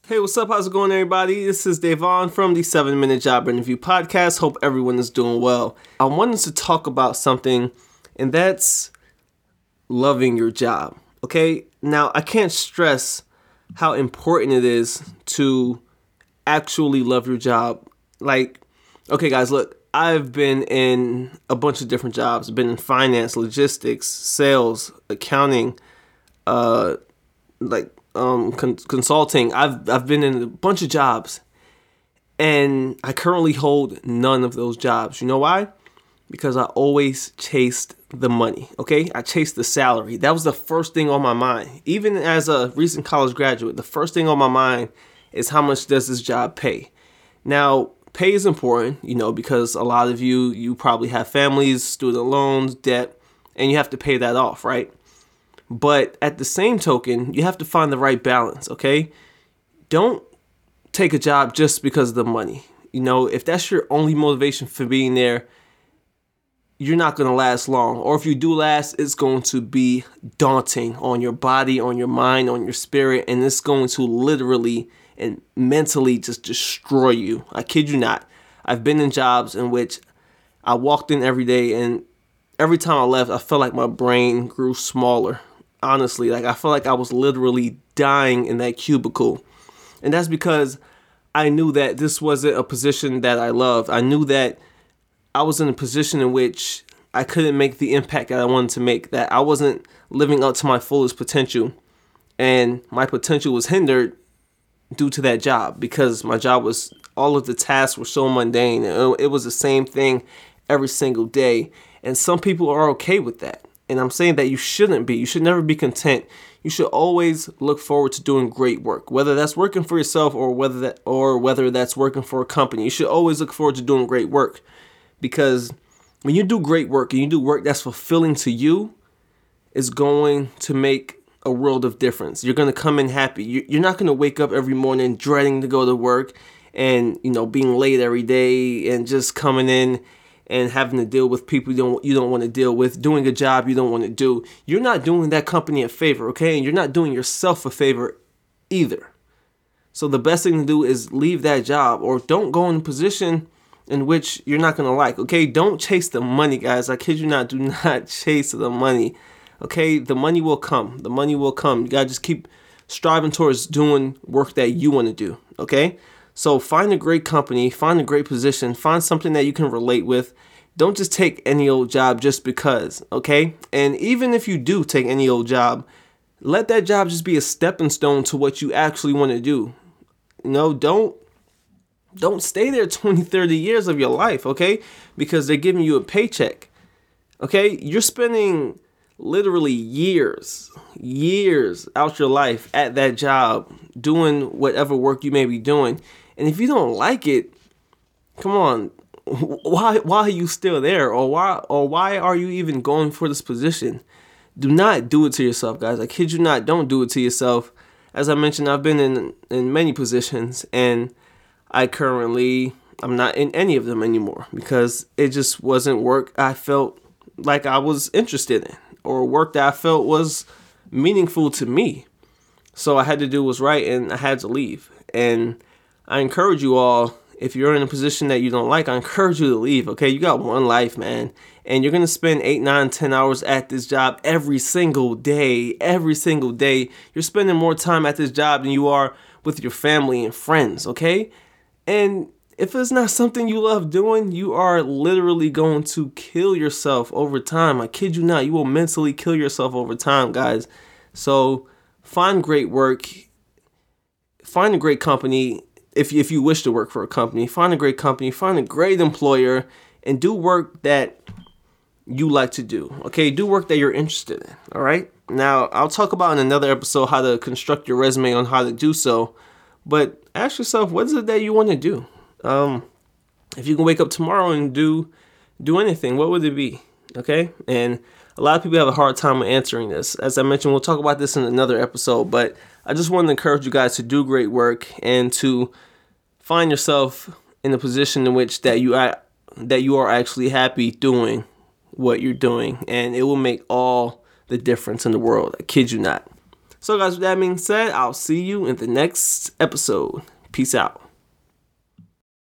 Hey, what's up? How's it going, everybody? This is Devon from the 7-Minute Job Interview Podcast. Hope everyone is doing well. I wanted to talk about something, and that's loving your job. Okay? Now, I can't stress how important it is to actually love your job. Okay, guys, look, I've been in a bunch of different jobs. I've been in finance, logistics, sales, accounting, consulting. I've been in a bunch of jobs, and I currently hold none of those jobs. You know why? Because I always chased the money. Okay, I chased the salary. That was the first thing on my mind. Even as a recent college graduate, the first thing on my mind is how much does this job pay? Now, pay is important, because a lot of you probably have families, student loans, debt, and you have to pay that off, right? But at the same token, you have to find the right balance, okay? Don't take a job just because of the money. If that's your only motivation for being there, you're not going to last long. Or if you do last, it's going to be daunting on your body, on your mind, on your spirit, and it's going to literally and mentally just destroy you. I kid you not. I've been in jobs in which I walked in every day, and every time I left, I felt like my brain grew smaller. Honestly, I felt like I was literally dying in that cubicle. And that's because I knew that this wasn't a position that I loved. I knew that I was in a position in which I couldn't make the impact that I wanted to make, that I wasn't living up to my fullest potential. And my potential was hindered due to that job, because my job was, all of the tasks were so mundane. It was the same thing every single day. And some people are okay with that. And I'm saying that you shouldn't be. You should never be content. You should always look forward to doing great work, whether that's working for yourself or whether that's working for a company. You should always look forward to doing great work, because when you do great work and you do work that's fulfilling to you, it's going to make a world of difference. You're going to come in happy. You're not going to wake up every morning dreading to go to work and, being late every day and just coming in and having to deal with people you don't want to deal with, doing a job you don't want to do. You're not doing that company a favor, okay? And you're not doing yourself a favor either. So the best thing to do is leave that job, or don't go in a position in which you're not going to like, okay? Don't chase the money, guys. I kid you not. Do not chase the money, okay? The money will come. The money will come. You got to just keep striving towards doing work that you want to do, okay? So find a great company, find a great position, find something that you can relate with. Don't just take any old job just because, okay? And even if you do take any old job, let that job just be a stepping stone to what you actually want to do. Don't stay there 20, 30 years of your life, okay? Because they're giving you a paycheck, okay? You're spending literally years out your life at that job doing whatever work you may be doing. And if you don't like it, come on, why are you still there? Or why are you even going for this position? Do not do it to yourself, guys. I kid you not. Don't do it to yourself. As I mentioned, I've been in many positions, and I'm not in any of them anymore, because it just wasn't work I felt like I was interested in, or work that I felt was meaningful to me. So I had to do what's right, and I had to leave. And I encourage you all, if you're in a position that you don't like, I encourage you to leave, okay? You got one life, man. And you're going to spend 8, 9, 10 hours at this job every single day. Every single day. You're spending more time at this job than you are with your family and friends, okay? And if it's not something you love doing, you are literally going to kill yourself over time. I kid you not. You will mentally kill yourself over time, guys. So find great work. Find a great company. If you wish to work for a company, find a great company, find a great employer, and do work that you like to do. Okay, do work that you're interested in. All right. Now, I'll talk about in another episode how to construct your resume on how to do so. But ask yourself, what is it that you want to do? If you can wake up tomorrow and do anything, what would it be? Okay. And a lot of people have a hard time answering this. As I mentioned, we'll talk about this in another episode, but I just wanted to encourage you guys to do great work and to find yourself in a position in which that you are actually happy doing what you're doing, and it will make all the difference in the world. I kid you not. So guys, with that being said, I'll see you in the next episode. Peace out.